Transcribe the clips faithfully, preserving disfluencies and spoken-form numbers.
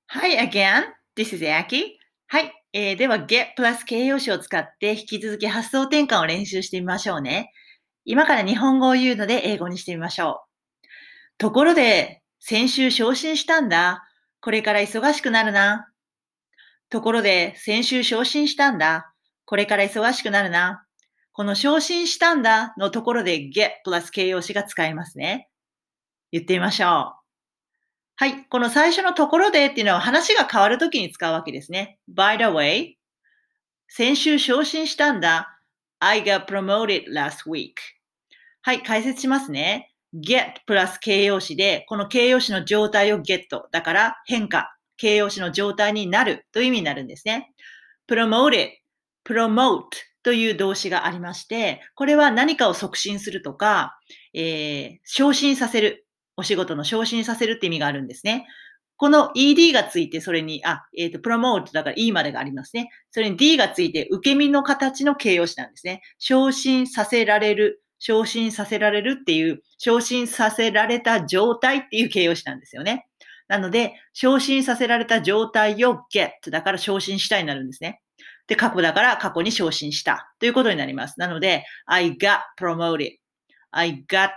Hi again. This is Aki. はい。えー、では get プラス形容詞を使って引き続き発想転換を練習してみましょうね。今から日本語を言うので英語にしてみましょう。ところで、先週昇進したんだ。これから忙しくなるな。ところで、先週昇進したんだ。これから忙しくなるな。この昇進したんだのところで get プラス形容詞が使えますね。言ってみましょう。はい。この最初のところでっていうのは話が変わるときに使うわけですね。By the way, 先週昇進したんだ。I got promoted last week. はい。解説しますね。get プラス形容詞で、この形容詞の状態を get。だから変化。形容詞の状態になるという意味になるんですね。promoted, promote という動詞がありまして、これは何かを促進するとか、えー、昇進させる。お仕事の昇進させるって意味があるんですね。この イーディー がついて、それに、あ、えっ、ー、と、promote だから E までがありますね。それに D がついて、受け身の形の形容詞なんですね。昇進させられる、昇進させられるっていう、昇進させられた状態っていう形容詞なんですよね。なので、昇進させられた状態を get だから昇進したになるんですね。で、過去だから過去に昇進したということになります。なので、I got promoted.I got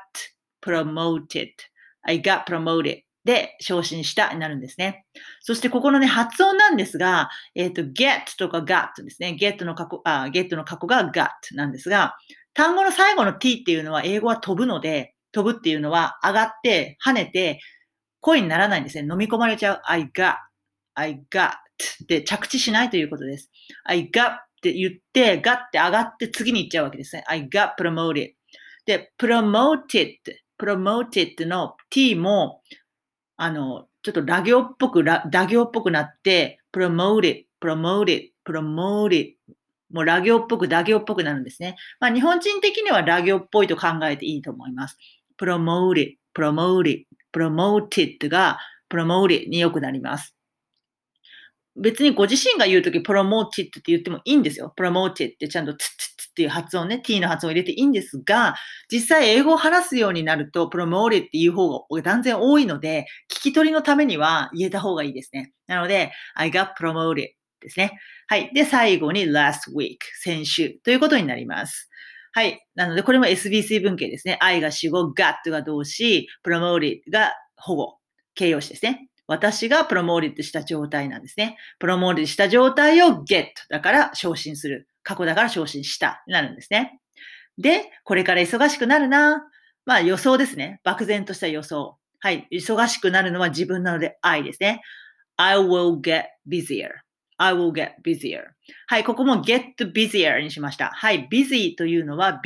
promoted.I got promoted. で、昇進したになるんですね。そしてここのね、発音なんですが、えっ、ー、と、get とか got ですね。get の過去、あ、get の過去が got なんですが、単語の最後の t っていうのは英語は飛ぶので、飛ぶっていうのは上がって、跳ねて、声にならないんですね。飲み込まれちゃう。I got, I got って着地しないということです。I got って言って、got って上がって次に行っちゃうわけですね。I got promoted. で、promoted, promoted の t も、あの、ちょっとラ行っぽく、ラ打行っぽくなって、promoted, promoted, promoted. もうラ行っぽく、打行っぽくなるんですね。まあ日本人的にはラ行っぽいと考えていいと思います。promoted, promoted, promoted が promoted によくなります。別にご自身が言うとき promoted って言ってもいいんですよ。promoted ってちゃんとツッツッツっていう発音ね、t の発音を入れていいんですが、実際英語を話すようになると promoted っていう方が断然多いので、聞き取りのためには言えた方がいいですね。なので、I got promoted ですね。はい。で、最後に last week、先週ということになります。はい。なので、これも エスビーシー 文型ですね。I が主語、got が動詞、promoted が保護、形容詞ですね。私がプロモーリッドした状態なんですね。プロモーリッドした状態を get だから昇進する。過去だから昇進したになるんですね。で、これから忙しくなるな。まあ予想ですね。漠然とした予想。はい。忙しくなるのは自分なので I ですね。I will get busier.I will get busier. はい、ここも get busier にしました。はい、busy というのは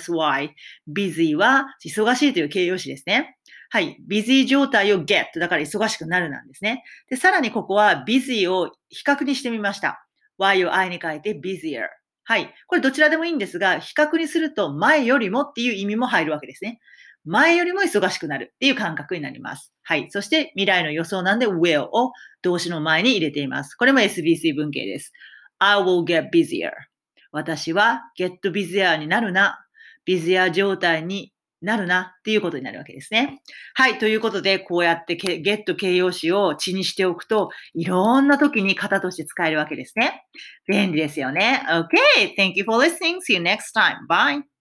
busy。busy は忙しいという形容詞ですね。はい、busy 状態を get だから忙しくなるなんですね。で、さらにここは busy を比較にしてみました。y を I に変えて busier。はい、これどちらでもいいんですが、比較にすると前よりもっていう意味も入るわけですね。前よりも忙しくなるっていう感覚になります。はい。そして未来の予想なんで will を動詞の前に入れています。これも エスビーシー 文型です。I will get busier. 私は get busier になるな。busier 状態になるなっていうことになるわけですね。はい。ということで、こうやって get 形容詞を地にしておくと、いろんな時に型として使えるわけですね。便利ですよね。Okay. Thank you for listening. See you next time. Bye.